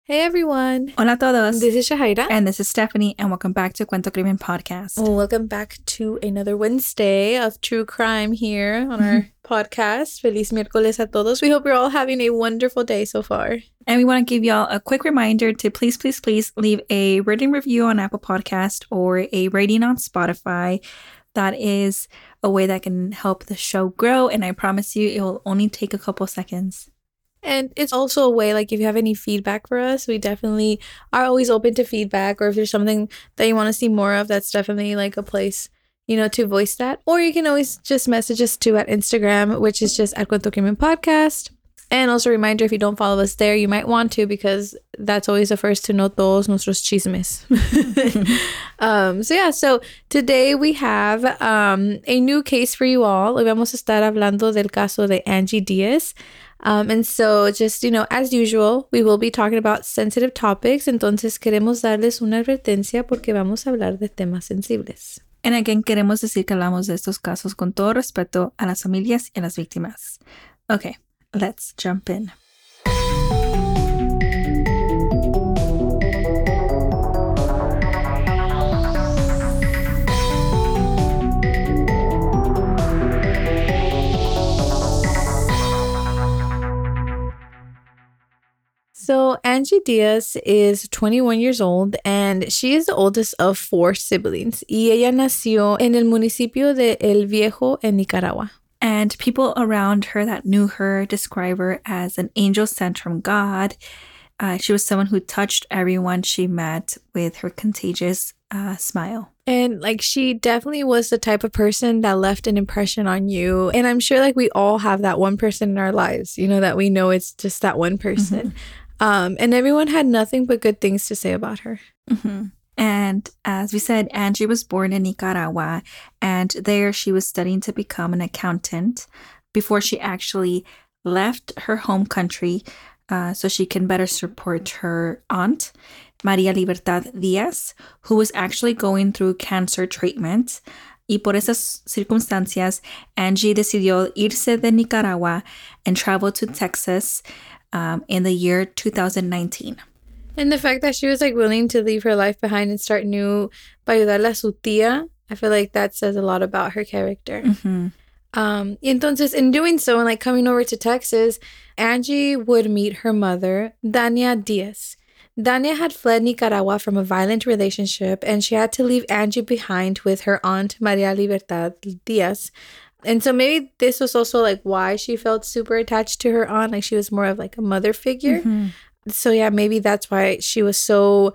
Hey everyone, Hola a todos. this is Shahaira. And this is Stephanie, and welcome back to Cuento Crimen Podcast. Welcome back to another Wednesday of true crime here on our podcast. Feliz miércoles a todos. We hope you're all having a wonderful day so far. And we want to give y'all a quick reminder to please leave a written review on Apple Podcast or a rating on Spotify. That is a way that can help the show grow, and I promise you it will only take a couple seconds. And it's also a way, like, if you have any feedback for us, we definitely are always open to feedback. Or if there's something that you want to see more of, that's definitely like a place, to voice that. Or you can always just message us too at Instagram, which is just at Cuento Crimen Podcast. And also a reminder, if you don't follow us there, you might want to, because that's always the first to know todos nuestros chismes. So today we have a new case for you all. Hoy vamos a estar hablando del caso de Angie Diaz. And so just, as usual, we will be talking about sensitive topics. Entonces queremos darles una advertencia porque vamos a hablar de temas sensibles. And again, queremos decir que hablamos de estos casos con todo respeto a las familias y a las víctimas. Okay, let's jump in. So Angie Diaz is 21 years old and she is the oldest of 4 siblings. Y ella nació en el municipio de El Viejo en Nicaragua. And people around her that knew her describe her as an angel sent from God. She was someone who touched everyone she met with her contagious smile. And she definitely was the type of person that left an impression on you. And I'm sure we all have that one person in our lives, that we know it's just that one person. Mm-hmm. And everyone had nothing but good things to say about her. Mm-hmm. And as we said, Angie was born in Nicaragua, and there she was studying to become an accountant before she actually left her home country so she can better support her aunt, María Libertad Díaz, who was actually going through cancer treatment. Y por esas circunstancias, Angie decidió irse de Nicaragua and travel to Texas in the year 2019. And the fact that she was willing to leave her life behind and start new para ayudarle a su tía, I feel like that says a lot about her character. Mm-hmm. Y entonces, in doing so, and coming over to Texas, Angie would meet her mother, Dania Diaz. Dania had fled Nicaragua from a violent relationship, and she had to leave Angie behind with her aunt, María Libertad Díaz. And so maybe this was also why she felt super attached to her aunt. She was more of a mother figure. Mm-hmm. So yeah, maybe that's why she was so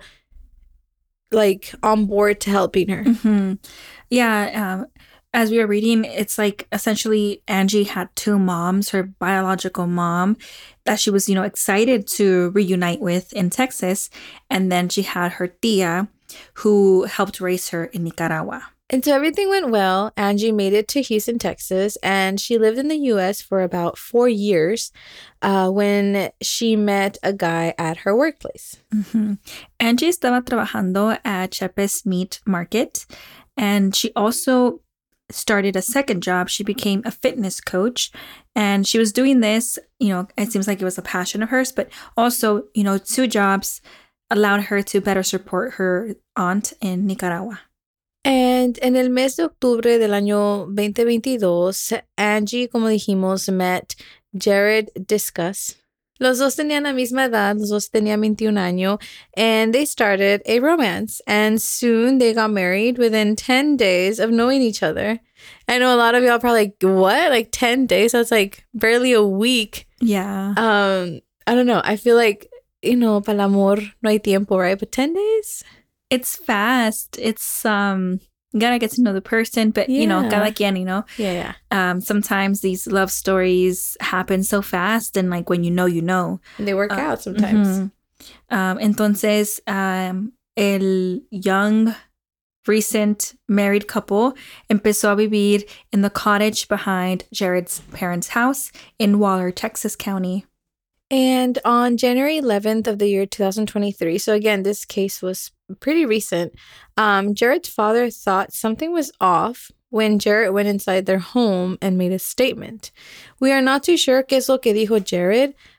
on board to helping her. Mm-hmm. Yeah. As we were reading, it's essentially Angie had 2 moms, her biological mom that she was, excited to reunite with in Texas. And then she had her tía who helped raise her in Nicaragua. And so everything went well. Angie made it to Houston, Texas, and she lived in the U.S. for about 4 years when she met a guy at her workplace. Mm-hmm. Angie estaba trabajando at Chepes Meat Market, and she also started a second job. She became a fitness coach, and she was doing this, it seems like it was a passion of hers, but also, 2 jobs allowed her to better support her aunt in Nicaragua. And en el mes de octubre del año 2022, Angie, como dijimos, met Jared Discus. Los dos tenían la misma edad, los dos tenían 21 años, and they started a romance. And soon they got married within 10 days of knowing each other. I know a lot of y'all probably what? 10 days? That's barely a week. Yeah. I don't know. I feel para el amor no hay tiempo, right? But 10 days? It's fast. It's you gotta get to know the person, but cada quien, Yeah. Sometimes these love stories happen so fast, and when you know. And they work out sometimes. Mm-hmm. Entonces, el young, recent married couple empezó a vivir in the cottage behind Jared's parents' house in Waller, Texas County. And on January 11th of the year 2023, so again, this case was pretty recent, Jared's father thought something was off when Jared went inside their home and made a statement. We are not too sure qué es lo que dijo Jared,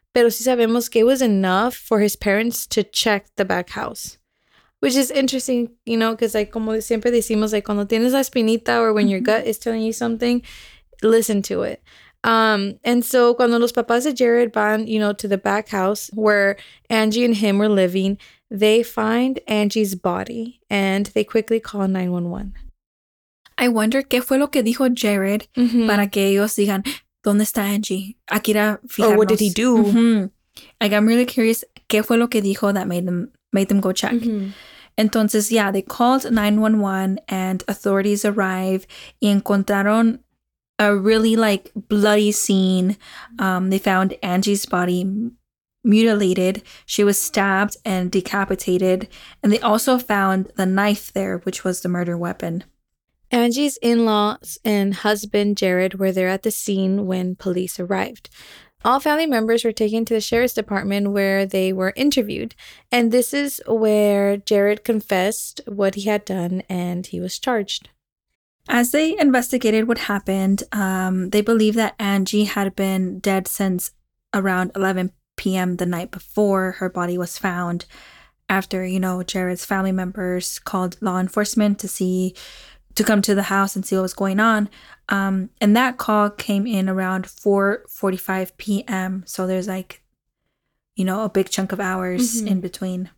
pero sí sabemos que it was enough for his parents to check the back house. Which is interesting, you know, because like como siempre decimos, like cuando tienes la espinita or when your gut is telling you something, listen to it. And so cuando los papás de Jared van, you know, to the back house where Angie and him were living, they find Angie's body and they quickly call 911. I wonder qué fue lo que dijo Jared para que ellos digan, ¿dónde está Angie? Aquí era fijarnos. Or what did he do? Like, I'm really curious qué fue lo que dijo that made them go check. Entonces, yeah, they called 911 and authorities arrive y encontraron a really like bloody scene. They found Angie's body mutilated. She was stabbed and decapitated. And they also found the knife there, which was the murder weapon. Angie's in-laws and husband, Jared, were there at the scene when police arrived. All family members were taken to the sheriff's department where they were interviewed. And this is where Jared confessed what he had done and he was charged. As they investigated what happened, they believe that Angie had been dead since around 11 p.m. the night before her body was found after, you know, Jared's family members called law enforcement to come to the house and see what was going on. And that call came in around 4:45 p.m. So there's like, you know, a big chunk of hours in between.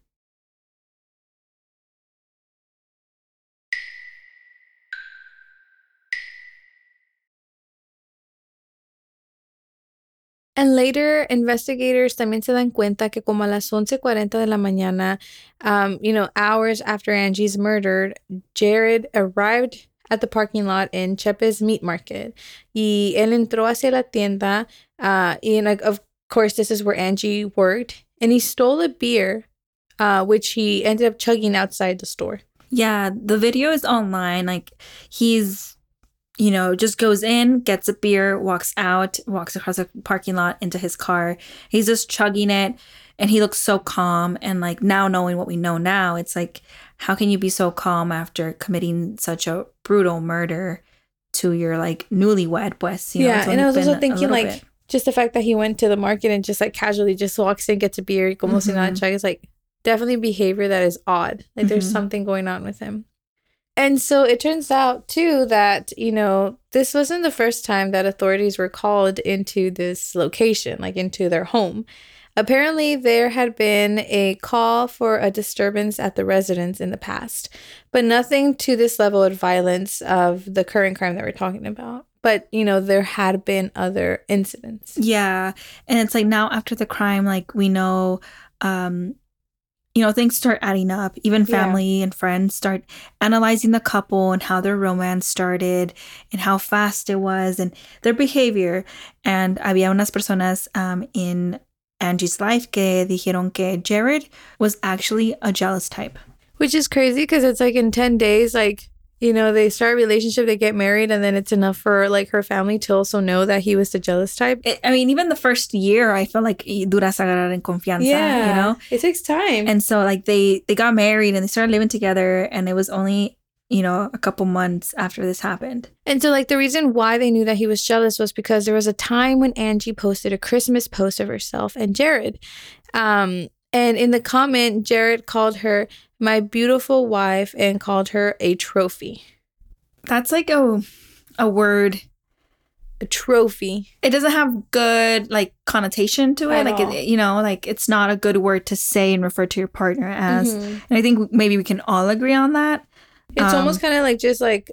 And later, investigators también se dan cuenta que como a las 11:40 de la mañana, you know, hours after Angie's murdered, Jared arrived at the parking lot in Chepe's Meat Market. Y él entró hacia la tienda, and like, of course, this is where Angie worked. And he stole a beer, which he ended up chugging outside the store. Yeah, the video is online. Like, he's, you know, just goes in, gets a beer, walks out, walks across the parking lot into his car. He's just chugging it. And he looks so calm. And like, now knowing what we know now, it's like, how can you be so calm after committing such a brutal murder to your like newlywed? Pues, you know, yeah, and I was also thinking like just the fact that he went to the market and just like casually just walks in, gets a beer, como si nada chug, is like definitely behavior that is odd. Like there's something going on with him. And so it turns out too that, you know, this wasn't the first time that authorities were called into this location, like into their home. Apparently, there had been a call for a disturbance at the residence in the past, but nothing to this level of violence of the current crime that we're talking about. But, you know, there had been other incidents. Yeah. And it's like now after the crime, like we know, you know, things start adding up. Even family and friends start analyzing the couple and how their romance started and how fast it was and their behavior. And había unas personas in Angie's life que dijeron que Jared was actually a jealous type. Which is crazy because it's like in 10 days, like, you know, they start a relationship, they get married, and then it's enough for like her family to also know that he was the jealous type. I mean, even the first year, I felt like duras agarrar en confianza, you know? It takes time. And so like they got married and they started living together, and it was only, you know, a couple months after this happened. And so like the reason why they knew that he was jealous was because there was a time when Angie posted a Christmas post of herself and Jared. And in the comment, Jared called her my beautiful wife and called her a trophy. That's like a word. A trophy. It doesn't have good like connotation to it. At all. You know, like it's not a good word to say and refer to your partner as. And I think maybe we can all agree on that. It's almost kind of like just like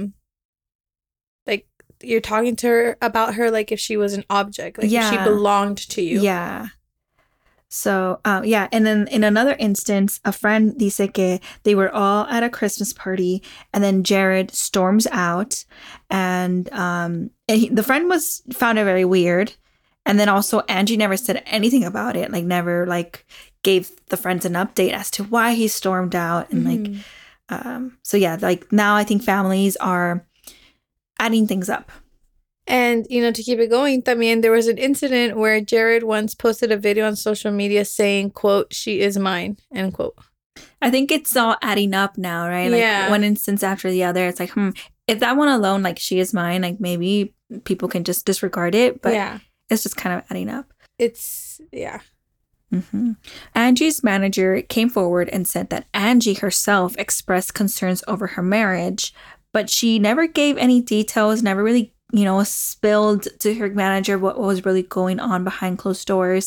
you're talking to her about her like if she was an object, like if she belonged to you. Yeah. So, and then in another instance, a friend dice que they were all at a Christmas party and then Jared storms out and the friend found it very weird. And then also Angie never said anything about it, like never like gave the friends an update as to why he stormed out. And like now I think families are adding things up. And, you know, to keep it going, también there was an incident where Jared once posted a video on social media saying, quote, "She is mine," end quote. I think it's all adding up now, right? Like one instance after the other. It's like, if that one alone, like "she is mine," like maybe people can just disregard it. But it's just kind of adding up. it's, yeah. Mm-hmm. Angie's manager came forward and said that Angie herself expressed concerns over her marriage, but she never gave any details, never really, spilled to her manager what was really going on behind closed doors.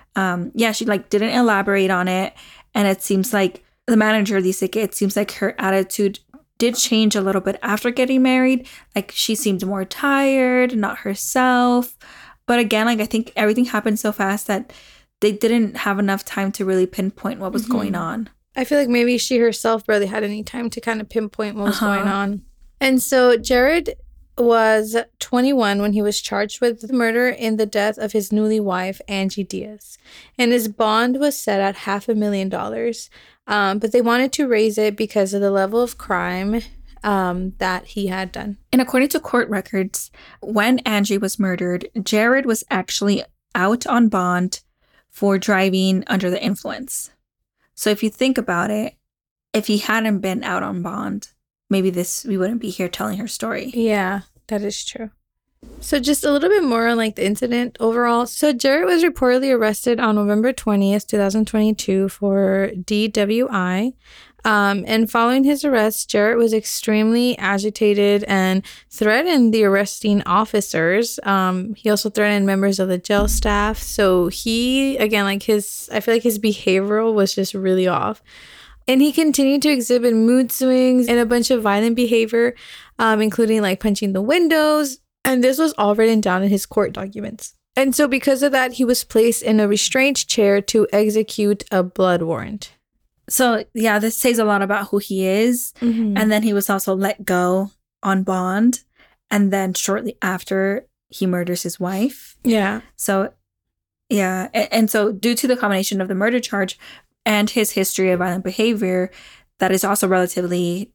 She didn't elaborate on it. And it seems like the manager, it seems like her attitude did change a little bit after getting married. Like she seemed more tired, not herself. But again, I think everything happened so fast that they didn't have enough time to really pinpoint what was going on. I feel like maybe she herself barely had any time to kind of pinpoint what was going on. And so Jared was 21 when he was charged with the murder in the death of his newly wife, Angie Diaz. And his bond was set at $500,000. But they wanted to raise it because of the level of crime that he had done. And according to court records, when Angie was murdered, Jared was actually out on bond for driving under the influence. So if you think about it, if he hadn't been out on bond, maybe we wouldn't be here telling her story. Yeah, that is true. So just a little bit more on the incident overall. So Jared was reportedly arrested on November 20th, 2022 for DWI. And following his arrest, Jared was extremely agitated and threatened the arresting officers. He also threatened members of the jail staff. So he, again, I feel like his behavioral was just really off. And he continued to exhibit mood swings and a bunch of violent behavior, including punching the windows. And this was all written down in his court documents. And so because of that, he was placed in a restraint chair to execute a blood warrant. So, yeah, this says a lot about who he is. Mm-hmm. And then he was also let go on bond. And then shortly after, he murders his wife. Yeah. So, yeah. And so due to the combination of the murder charge and his history of violent behavior, that is also relatively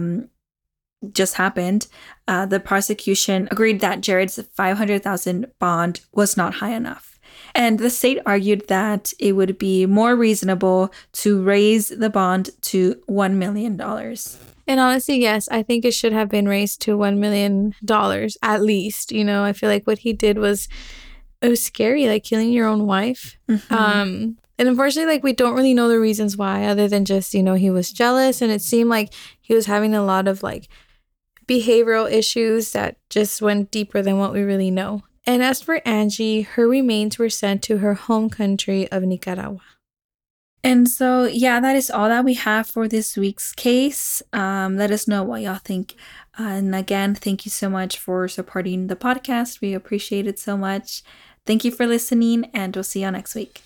just happened, the prosecution agreed that Jared's $500,000 bond was not high enough. And the state argued that it would be more reasonable to raise the bond to $1 million. And honestly, yes, I think it should have been raised to $1 million at least. I feel like what he did it was scary, killing your own wife. Mm-hmm. And unfortunately, we don't really know the reasons why, other than just, he was jealous. And it seemed like he was having a lot of behavioral issues that just went deeper than what we really know. And as for Angie, her remains were sent to her home country of Nicaragua. And so, yeah, that is all that we have for this week's case. Let us know what y'all think. And again, thank you so much for supporting the podcast. We appreciate it so much. Thank you for listening, and we'll see y'all next week.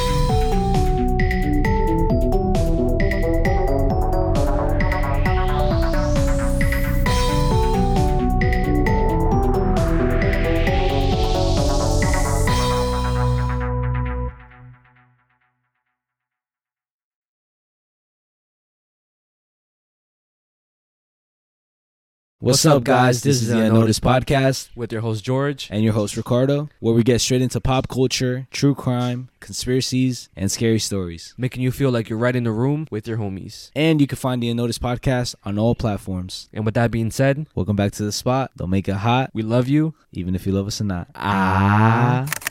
What's up, guys? This is the Unnoticed Podcast with your host, George. And your host, Ricardo, where we get straight into pop culture, true crime, conspiracies, and scary stories. Making you feel like you're right in the room with your homies. And you can find the Unnoticed Podcast on all platforms. And with that being said, welcome back to the spot. Don't make it hot. We love you. Even if you love us or not. Ah.